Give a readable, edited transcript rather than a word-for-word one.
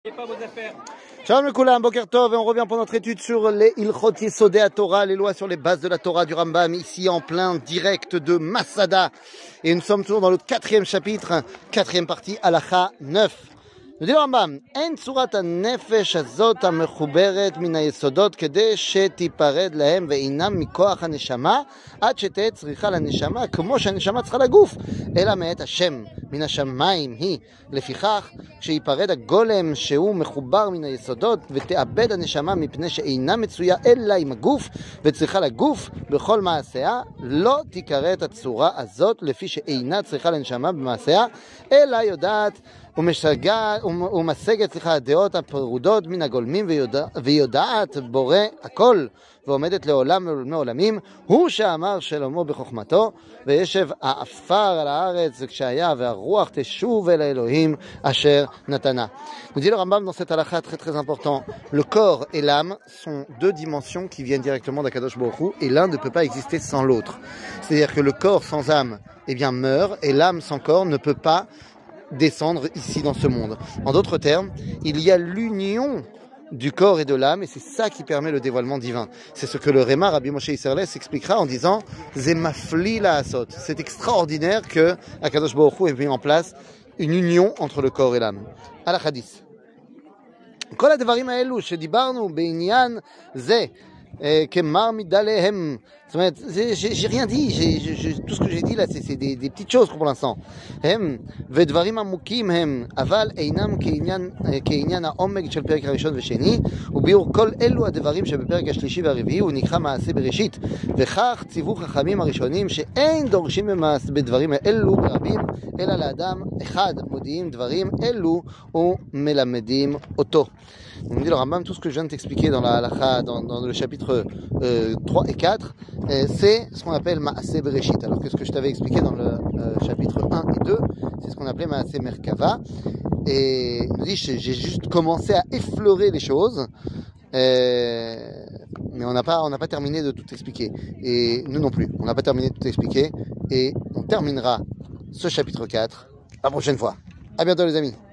Shalom le Koulam, Boker Tov, et on revient pour notre étude sur les Ilchot Yesodei Torah, les lois sur les bases de la Torah du Rambam, ici en plein direct de Masada. Et nous sommes toujours dans le 4e chapitre, 4e partie, Halacha 9. nous dit le Rambam, En tzurat ha-nefesh hazot ha-mechuberet min ha-yesodot kede shetipared lahem ve'inam mikoach ha-neshama ad sheteh tzricha la-neshama כמו שהנשמה צריכה לגוף אלא מאת השם מן השמיים היא לפיכך כשיפרד הגולם שהוא מחובר מן היסודות ותאבד הנשמה מפני שאינה מצויה אלא עם הגוף וצריכה לגוף בכל מעשיה לא תיקרא הצורה הזאת לפי שאינה צריכה לנשמה במעשיה אלא יודעת ומשגת הדעות הפרודות מן הגולמים ויודעת בורא הכל ועומדת לעולם ולעולמי עולמים הוא שאמר שלמה בחוכמתו וישב העפר על הארץ וכשהיה והרוח תשוב אל האלוהים אשר נתנה. Nous dit le Rambam dans cette halakha très très important, le corps et l'âme sont deux dimensions qui viennent directement d'Akadosh Baruch Hu et l'un ne peut pas exister sans l'autre. C'est-à-dire que le corps sans âme meurt et l'âme sans corps ne peut pas descendre ici dans ce monde. En d'autres termes, il y a l'union du corps et de l'âme, et c'est ça qui permet le dévoilement divin. C'est ce que le Réma, Rabbi Moshe Isserles, expliquera en disant « Zemafli la asot ». C'est extraordinaire que Akadosh Baruch Hu ait mis en place une union entre le corps et l'âme. À la hadith. כל הדברים האלו שדיברנו בעניין זה כמר מדליהם, זאת אומרת, j'ai rien dit, tout ce que j'ai dit là, c'est des petites choses pour l'instant. הם, ודברים עמוקים הם, אבל אינם כעניין העומק של פרק הראשון ושני, וביאור כל אלו הדברים שבפרק השלישי והרביעי, הוא נקרא מעשה בראשית. וכך ציוו חכמים הראשונים שאין דורשים בדברים אלו ברבים, אלא לאדם אחד מודיעים דברים אלו ומלמדים אותו. On me dit le Rambam, tout ce que je viens de t'expliquer dans la halakha, dans le chapitre 3 et 4, c'est ce qu'on appelle Maaseh Bereshit. Alors que ce que je t'avais expliqué dans le chapitre 1 et 2, c'est ce qu'on appelait Maaseh Merkava. Et il me dit, j'ai juste commencé à effleurer les choses, mais on n'a pas terminé de tout expliquer. Et nous non plus, on n'a pas terminé de tout expliquer. Et on terminera ce chapitre 4 la prochaine fois. À bientôt les amis.